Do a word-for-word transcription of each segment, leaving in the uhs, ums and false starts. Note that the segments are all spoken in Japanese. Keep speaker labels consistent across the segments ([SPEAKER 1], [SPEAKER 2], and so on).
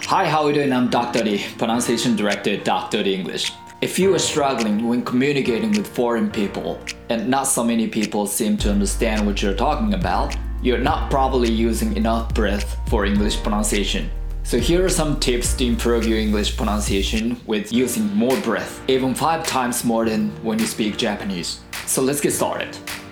[SPEAKER 1] Hi, how are you doing? I'm Doctor D, Pronunciation Director at Doctor D English. If you are struggling when communicating with foreign people and not so many people seem to understand what you're talking about, you're not probably using enough breath for English pronunciation. So here are some tips to improve your English pronunciation with using more breath, even five times more than when you speak Japanese. So let's get started.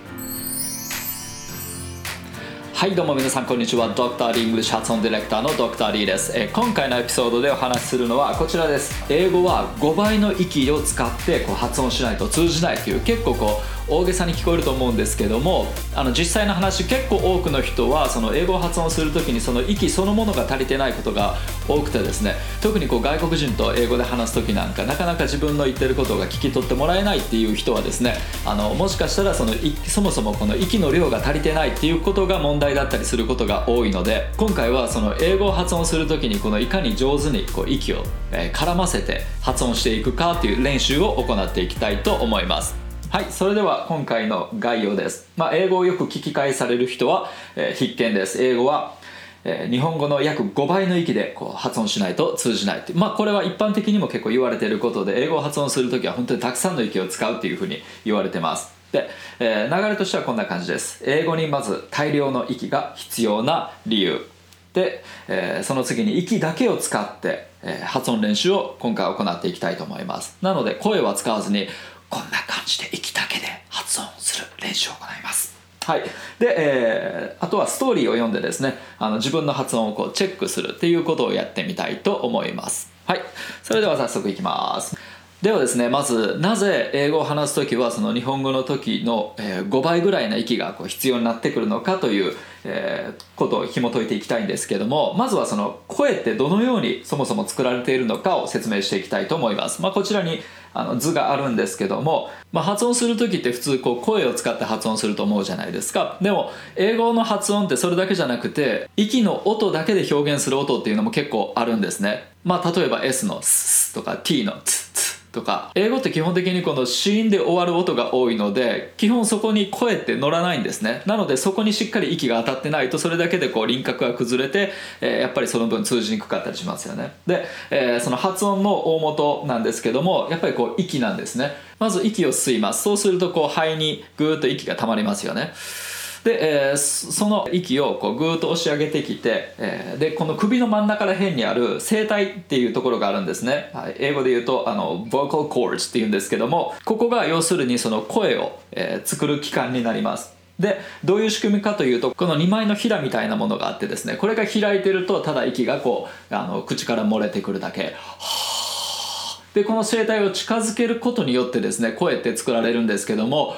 [SPEAKER 1] はいどうも皆さんこんにちは。ドクター D English 発音ディレクターのドクター D です、えー、今回のエピソードでお話しするのはこちらです。英語はごばいの息を使ってこう発音しないと通じないという結構こう大げさに聞こえると思うんですけども、あの実際の話結構多くの人はその英語を発音するときにその息そのものが足りてないことが多くてですね、特にこう外国人と英語で話すときなんかなかなか自分の言ってることが聞き取ってもらえないっていう人はですね、あのもしかしたらそのそもそもこの息の量が足りてないっていうことが問題だったりすることが多いので、今回はその英語を発音するときにこのいかに上手にこう息を絡ませて発音していくかという練習を行っていきたいと思います。はい、それでは今回の概要です。まあ、英語をよく聞き返される人は、えー、必見です。英語は、えー、日本語の約ごばいの息でこう発音しないと通じないっていう、まあ、これは一般的にも結構言われていることで、英語を発音するときは本当にたくさんの息を使うっていうふうに言われてます。で、えー、流れとしてはこんな感じです。英語にまず大量の息が必要な理由で、えー、その次に息だけを使って、えー、発音練習を今回行っていきたいと思います。なので声は使わずにこんな感じで息だけで発音する練習を行います。はい。で、えー、あとはストーリーを読んでですね、あの自分の発音をこうチェックするっていうことをやってみたいと思います。はい。それでは早速いきます。ではですね、まずなぜ英語を話すときはその日本語の時のごばいぐらいの息がこう必要になってくるのかということを紐解いていきたいんですけども、まずはその声ってどのようにそもそも作られているのかを説明していきたいと思います。まあ、こちらにあの図があるんですけども、まあ、発音する時って普通こう声を使って発音すると思うじゃないですか。でも英語の発音ってそれだけじゃなくて息の音だけで表現する音っていうのも結構あるんですね。まあ、例えば S のスとか T のツツとか、英語って基本的にこの子音で終わる音が多いので基本そこに声って乗らないんですね。なのでそこにしっかり息が当たってないとそれだけでこう輪郭が崩れて、えー、やっぱりその分通じにくかったりしますよね。で、えー、その発音の大元なんですけどもやっぱりこう息なんですね。まず息を吸います。そうするとこう肺にぐーっと息が溜まりますよね。で、えー、その息をこうぐーっと押し上げてきて、えー、でこの首の真ん中ら辺にある声帯っていうところがあるんですね、はい、英語で言うとあの vocal cords っていうんですけども、ここが要するにその声を、えー、作る器官になります。でどういう仕組みかというと、このにまいのひだみたいなものがあってですね、これが開いてるとただ息がこうあの口から漏れてくるだけ。でこの声帯を近づけることによってですね声って作られるんですけども、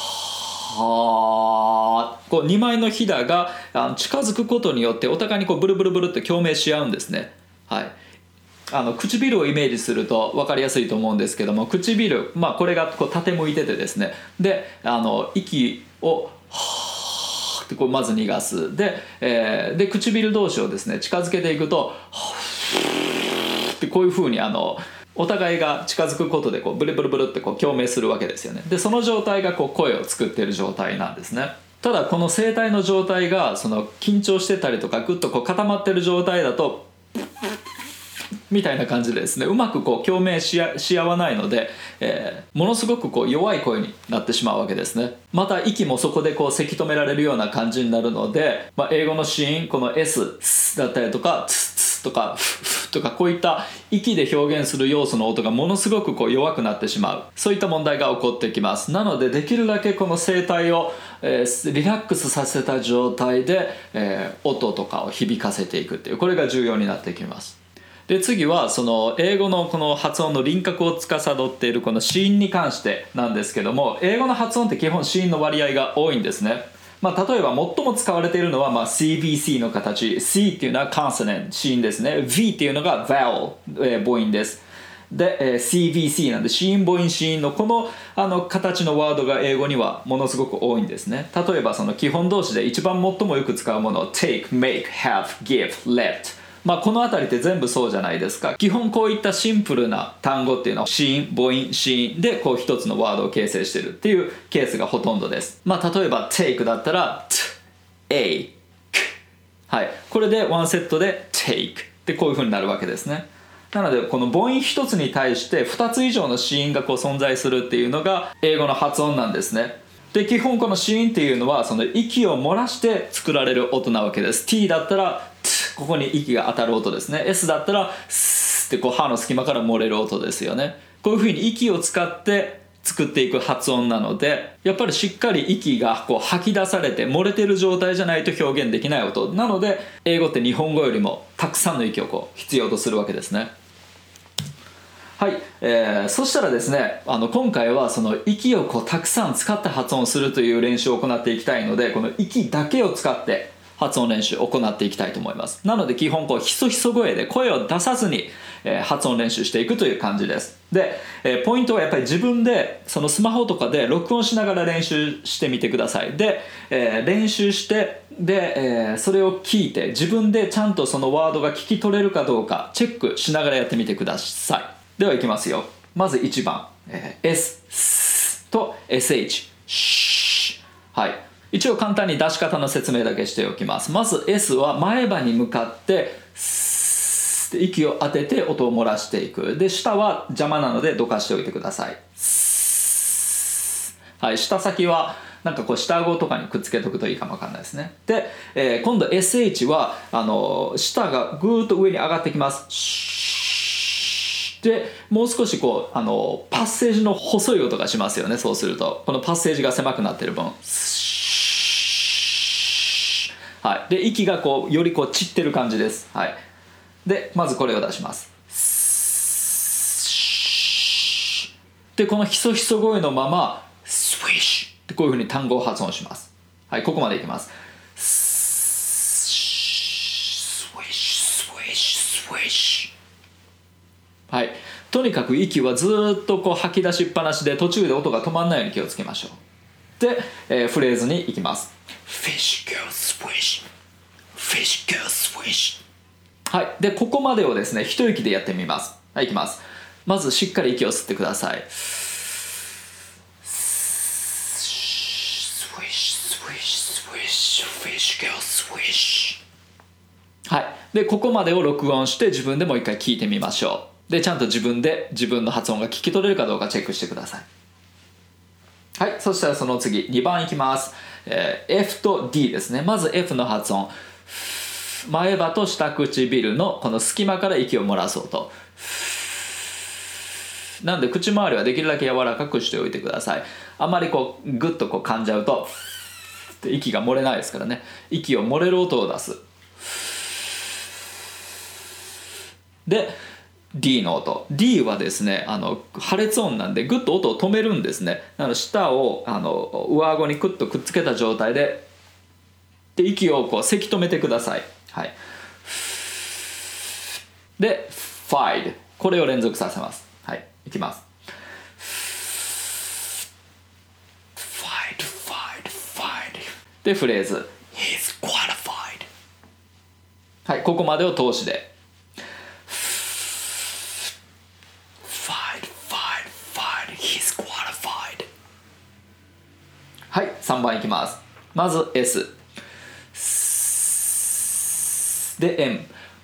[SPEAKER 1] はこうにまいのひだが近づくことによってお互いにこうブルブルブルって共鳴し合うんですね。はい、あの唇をイメージすると分かりやすいと思うんですけども、唇、まあ、これがこう縦向いててですね、であの息をはーってこうまず逃がす。で、えー、で唇同士をですね近づけていくとはーってこういう風にあのお互いが近づくことでこうブルブルブルってこう共鳴するわけですよね。でその状態がこう声を作っている状態なんですね。ただこの声帯の状態がその緊張してたりとかグッとこう固まってる状態だとみたいな感じでですねうまくこう共鳴しあ、し合わないので、えー、ものすごくこう弱い声になってしまうわけですね。また息もそこでこうせき止められるような感じになるので、まあ、英語の子音この S だったりとかツツとかフフとかこういった息で表現する要素の音がものすごくこう弱くなってしまう、そういった問題が起こってきます。なのでできるだけこの声帯を、えー、リラックスさせた状態で、えー、音とかを響かせていくっていう、これが重要になってきます。で次はその英語のこの発音の輪郭を司っているこの子音に関してなんですけども、英語の発音って基本子音の割合が多いんですね。まあ、例えば最も使われているのはまあ シービーシー の形、 C っていうのは consonant 子音ですね、 V っていうのが vowel、えー、母音です。で、えー、シービーシー なんで子音母音子音のこの、あの形のワードが英語にはものすごく多いんですね。例えばその基本動詞で一番最もよく使うもの take、make、have、give、let、まあ、この辺りって全部そうじゃないですか。基本こういったシンプルな単語っていうのは子音母音子音でこう一つのワードを形成しているっていうケースがほとんどです。まあ、例えば take だったら t、a、k、はい、これでワンセットで take でこういう風になるわけですね。なのでこの母音一つに対してふたつ以上の子音がこう存在するっていうのが英語の発音なんですね。で基本この子音っていうのはその息を漏らして作られる音なわけです。 T だったらここに息が当たる音ですね。 S だったらスってこう歯の隙間から漏れる音ですよね。こういうふうに息を使って作っていく発音なので、やっぱりしっかり息がこう吐き出されて漏れてる状態じゃないと表現できない音なので、英語って日本語よりもたくさんの息をこう必要とするわけですね。はい、えー、そしたらですね、あの今回はその息をこうたくさん使って発音するという練習を行っていきたいので、この息だけを使って発音練習を行っていきたいと思います。なので基本こうひそひそ声で声を出さずに、えー、発音練習していくという感じです。で、えー、ポイントはやっぱり自分でそのスマホとかで録音しながら練習してみてください。で、えー、練習してで、えー、それを聞いて自分でちゃんとそのワードが聞き取れるかどうかチェックしながらやってみてください。ではいきますよ。まずいちばん、えー、S、S と エスエイチ、シー、はい。一応簡単に出し方の説明だけしておきます。まず S は前歯に向かってスーって息を当てて音を漏らしていく。で下は邪魔なのでどかしておいてください。はい、下先はなんかこう下顎とかにくっつけとくといいかもわかんないですね。で、えー、今度 エスエイチ はあの舌がぐーっと上に上がってきます。でもう少しこうあのパッセージの細い音がしますよね。そうするとこのパッセージが狭くなってる分、はい、で息がこうよりこう散ってる感じです。はい、でまずこれを出します。でこのひそひそ声のままスウィッシュってこういうふうに単語を発音します。はい、ここまでいきます。スウィッシュスウィッシュスウィッシュ。はい、とにかく息はずっとこう吐き出しっぱなしで途中で音が止まらないように気をつけましょう。で、えー、フレーズに行きます。 Fish girl swish Fish girl swish。 はい、でここまでをですね一息でやってみます。はい、いきます。まずしっかり息を吸ってください。 Swish swish swish Fish girl swish。 はい、でここまでを録音して自分でもう一回聞いてみましょう。でちゃんと自分で自分の発音が聞き取れるかどうかチェックしてください。はい、そしたらその次にばんいきます、えー、F と D ですね。まず F の発音、前歯と下唇のこの隙間から息を漏らす音なんで口周りはできるだけ柔らかくしておいてください。あんまりこうグッとこう噛んじゃうとって息が漏れないですからね。息を漏れる音を出す。でD の音、 D はですねあの破裂音なんでグッと音を止めるんですね。なので舌をあの上顎にクッとくっつけた状態でで息をこうせき止めてください。はい、で Fide これを連続させます。はい、いきます。 Fide Fide Fide でフレーズ He's qualified。 はい、ここまでを通しではい、さんばんいきます。まず S で M、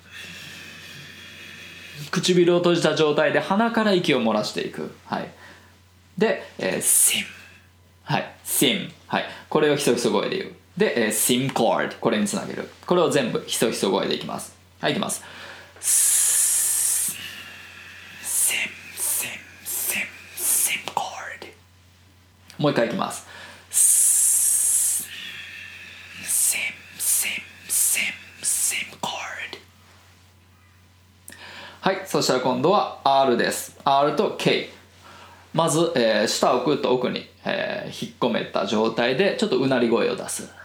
[SPEAKER 1] 唇を閉じた状態で鼻から息を漏らしていく。はい、で、えー、Sim、 はい、Sim、はい、これをひそひそ声で言う。で、えー、Sim chord これにつなげる。これを全部ひそひそ声でいきます。はい、いきます。Sim Sim Sim Sim chord。 もう一回いきます。はい、そしたら今度は R です。 R と K。 まず、えー、舌をぐっと奥に、えー、引っ込めた状態でちょっとうなり声を出す。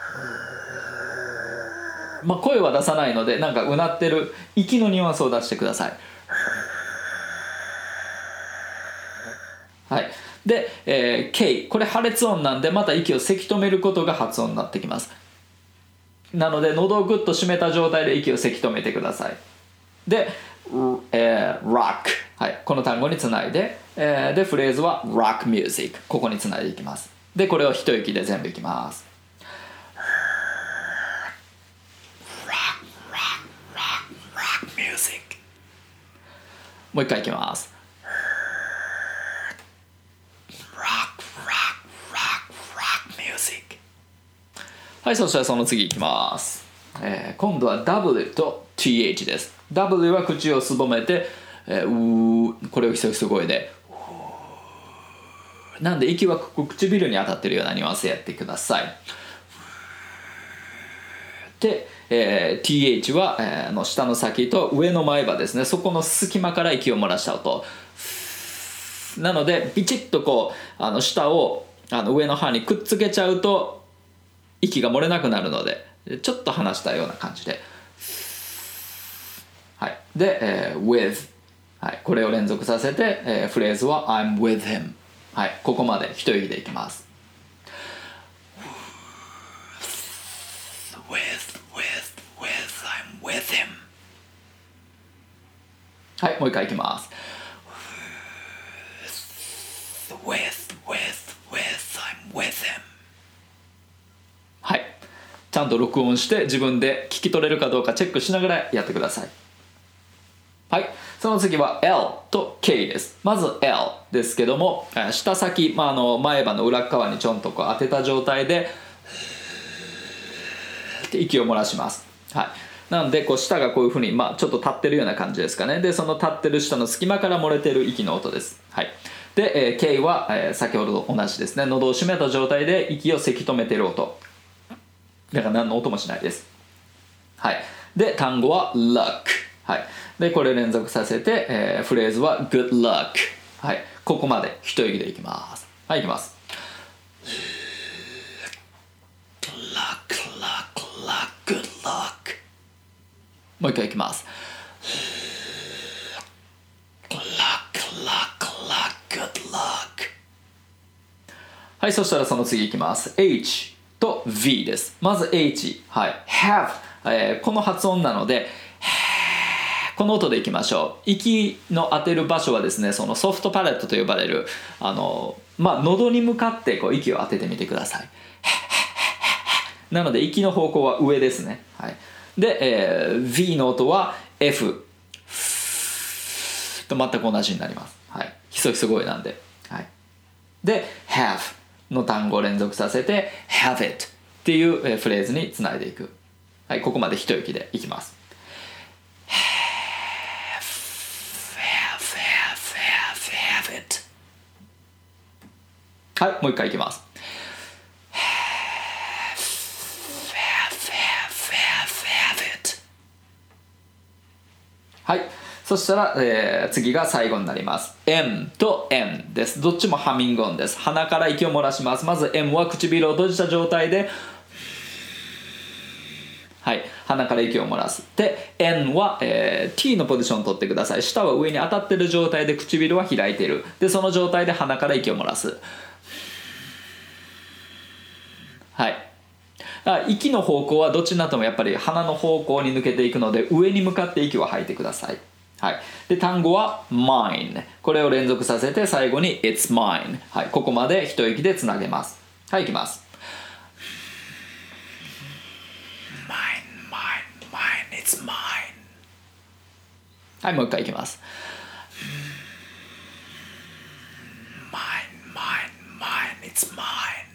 [SPEAKER 1] まあ、声は出さないのでなんかうなってる息のニュアンスを出してください。はい、で、えー、K これ破裂音なんでまた息をせき止めることが発音になってきます。なので喉をグッと締めた状態で息をせき止めてください。で、えー、rock、はい、この単語につないで、えー、でフレーズは rock music ここにつないでいきます。でこれを一息で全部いきます。 rock rock rock rock rock music。 もう一回いきます。はい、そしたらその次いきます、えー、今度は W と ティーエイチ です。 W は口をすぼめて、えー、うーこれをひそひそ声でなんで息は唇に当たってるようなニュアンスでやってください。で、えー、ティーエイチ は、えー、の下の先と上の前歯ですね、そこの隙間から息を漏らした音なので、ビチッとこうあの下をあの上の歯にくっつけちゃうと息が漏れなくなるので、ちょっと離したような感じで、はい、で、えー、with、はい、これを連続させて、えー、フレーズは I'm with him、はい、ここまで一息でいきます。 with, with, with, I'm with him。 はい、もう一回いきます。 with, with, with, I'm with him。 はい、ちゃんと録音して自分で聞き取れるかどうかチェックしながらやってください。はい、その次は L と K です。まず L ですけども、下先、まあ、あの前歯の裏側にちょんとこう当てた状態で息を漏らします。はい、なのでこう舌がこういうふうに、まあ、ちょっと立ってるような感じですかね。でその立ってる舌の隙間から漏れてる息の音です。はい、で、えー、K は、えー、先ほどと同じですね。喉を閉めた状態で息をせき止めてる音だから何の音もしないです。はい、で単語は luck、はい、でこれ連続させて、えー、フレーズは good luck、はい、ここまで一息でいきます。はい、いきます。 luck luck luck good luck。 もう一回いきます。 luck luck luck good luck。 はい、そしたらその次いきます。 H と V です。まず H、はい、have、えー、この発音なのでこの音でいきましょう。息の当てる場所はですね、そのソフトパレットと呼ばれるあの、まあ、喉に向かってこう息を当ててみてください。なので息の方向は上ですね。はい、で、えー、V の音は F と全く同じになります。はい、ひそひそ声なんで。はい、で have の単語を連続させて have it っていうフレーズにつないでいく。はい、ここまで一息でいきます。はい、もう一回いきます。はい、そしたら、えー、次が最後になります。 M と N です。どっちもハミング音です。鼻から息を漏らします。まず M は唇を閉じた状態で、はい、鼻から息を漏らす。で N は、えー、T のポジションを取ってください。舌は上に当たっている状態で唇は開いている。でその状態で鼻から息を漏らす。はい、息の方向はどっちになってもやっぱり鼻の方向に抜けていくので上に向かって息を吐いてください。はい、で単語は mine、 これを連続させて最後に it's mine、はい、ここまで一息でつなげます。はい、いきます。 mine mine mine it's mine。 はい、もう一回いきます。 mine mine mine it's mine。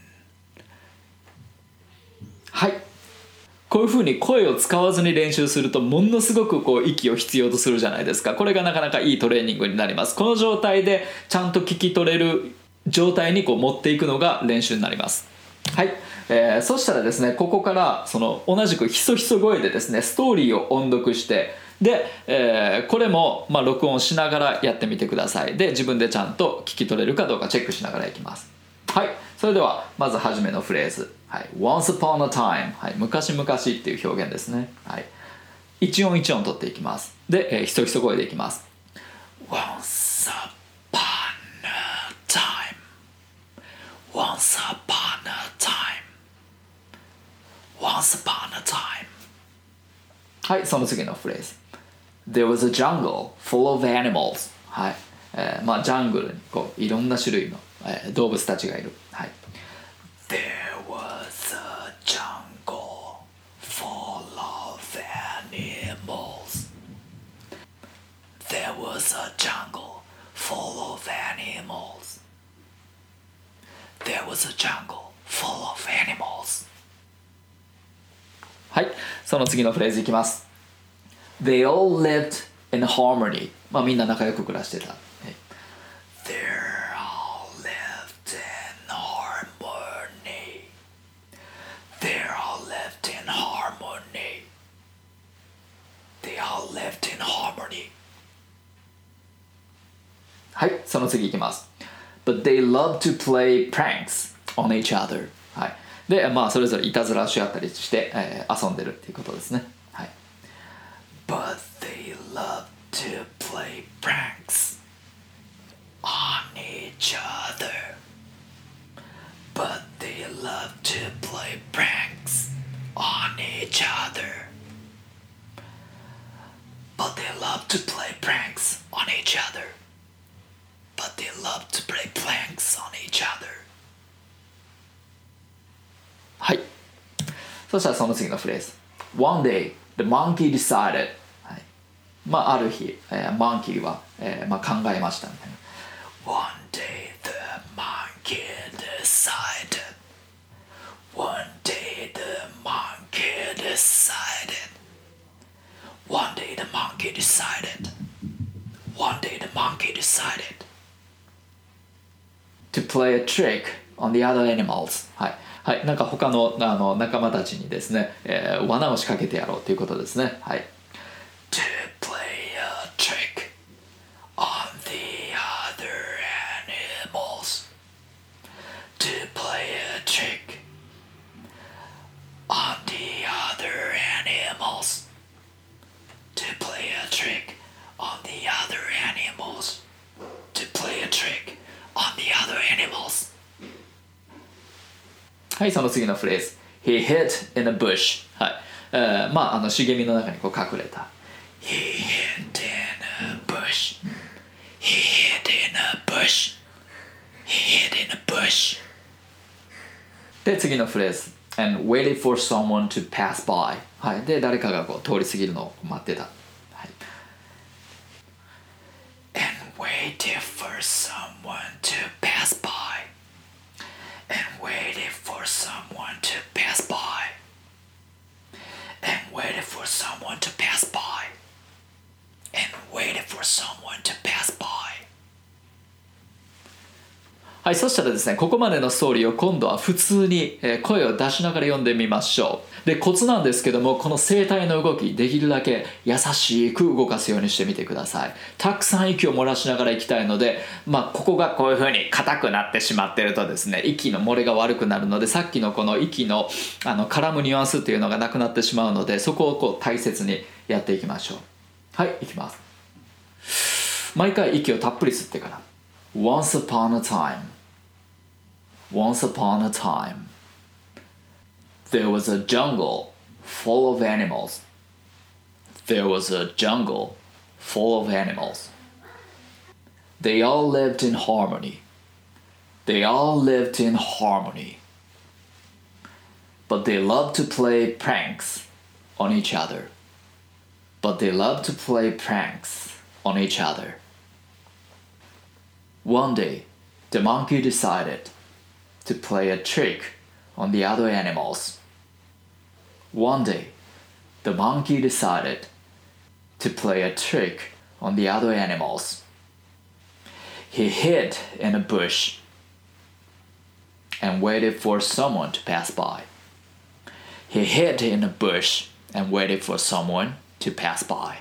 [SPEAKER 1] はい、こういう風に声を使わずに練習するとものすごくこう息を必要とするじゃないですか。これがなかなかいいトレーニングになります。この状態でちゃんと聞き取れる状態にこう持っていくのが練習になります。はい、えー、そしたらですね、ここからその同じくひそひそ声でですねストーリーを音読してで、えー、これもまあ録音しながらやってみてください。で自分でちゃんと聞き取れるかどうかチェックしながらいきます。はい、それではまず初めのフレーズ、はい、Once upon a time、はい、昔々っていう表現ですね。はい、一音一音取っていきます。で、えー、ひそひそ声でいきます。 Once upon a time Once upon a time Once upon a time。 はい、その次のフレーズ There was a jungle full of animals。 はい、えー、まあジャングルにこういろんな種類のえー、動物たちがいる。はい、There was a jungle full of animals。There There was a jungle full of animals. There was a jungle full of animals. はい、その次のフレーズいきます。They all lived in harmony. まあみんな仲良く暮らしてた。はい、They all lived in harmony. They all lived in harmony. They all lived in harmony. はい、その次いきます。But they loved to play pranks on each other. はい。で、まあそれぞれいたずらし合ったりして、えー、遊んでるっていうことですね。はい。But they loved to play pranks on each other. But they loved to play pranks on each other. But they loved to play pranks on each other. But they loved to play pranks on each other. はい。そしたらその次のフレーズ。One day, the monkey decided. はい、まあある日、えー、マンキーは、えーまあ、考えましたみたいな。One day, the monkey decided. One day, the monkey decided. One day, the monkey decided. One day, the monkey decided to play a trick on the other animals. はい。はい、なんか他の、あの仲間たちにですね、えー、罠を仕掛けてやろうということですね。はい。To play a trick on the other animals. To play a trick on the other animals. To play a trick on the other animals. To play a trick on the other animals. はい、その次のフレーズ。He hid in a bush. はい。えー、まあ、あの茂みの中にこう隠れた。He hid in a bush. He hid in a bush. He hid in a bush. で、次のフレーズ。And waited for someone to pass by. はい。で、誰かがこう通り過ぎるのを待ってた。はい。And waited for someone to pass by.And waited for someone to pass by. And waited for someone to pass by. And waited for someone to pass by. はい、そしたらですね、ここまでのストーリーを今度は普通に声を出しながら読んでみましょう。で、コツなんですけども、この声帯の動き、できるだけ優しく動かすようにしてみてください。たくさん息を漏らしながらいきたいので、まあ、ここがこういう風に硬くなってしまってるとですね、息の漏れが悪くなるので、さっきのこの息の、あの絡むニュアンスっていうのがなくなってしまうので、そこをこう大切にやっていきましょう。はい、いきます。毎回息をたっぷり吸ってから。Once upon a time.Once upon a time, there was a jungle full of animals. There was a jungle full of animals. They all lived in harmony. They all lived in harmony. But they loved to play pranks on each other. But they loved to play pranks on each other. One day, the monkey decided.to play a trick on the other animals. One day, the monkey decided to play a trick on the other animals. He hid in a bush and waited for someone to pass by. He hid in a bush and waited for someone to pass by.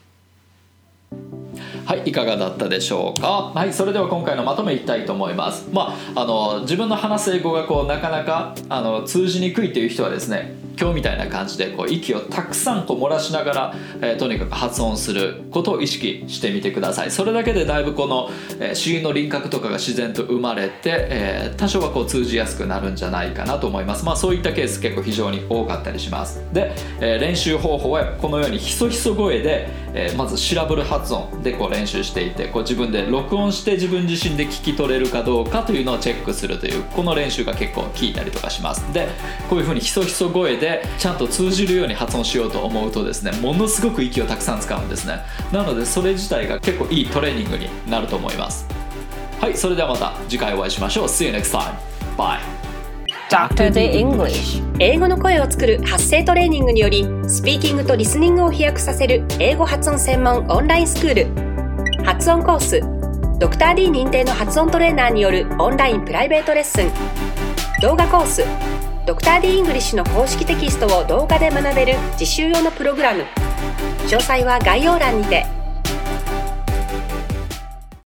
[SPEAKER 1] はい、いかがだったでしょうか。はい、それでは今回のまとめいきたいと思います。まあ、あの自分の話す英語がこうなかなかあの通じにくいという人はですね、今日みたいな感じでこう息をたくさんこう漏らしながら、えー、とにかく発音することを意識してみてください。それだけでだいぶこの、えー、子音の輪郭とかが自然と生まれて、えー、多少はこう通じやすくなるんじゃないかなと思います。まあそういったケース結構非常に多かったりします。で、えー、練習方法はこのようにひそひそ声で、ええー、まずシラブル発音でこう練習していて、こう自分で録音して自分自身で聞き取れるかどうかというのをチェックするという、この練習が結構効いたりとかします。でこういう風にひそひそ声でちゃんと通じるように発音しようと思うとですね、ものすごく息をたくさん使うんですね。なのでそれ自体が結構いいトレーニングになると思います。はい、それではまた次回お会いしましょう。 See you next time. Bye.
[SPEAKER 2] ドクター The English 英語の声を作る発声トレーニングにより、スピーキングとリスニングを飛躍させる英語発音専門オンラインスクール、発音コース、ドクター D 認定の発音トレーナーによるオンラインプライベートレッスン、動画コース、ドクター D イングリッシュの公式テキストを動画で学べる実習用のプログラム。詳細は概要欄にて。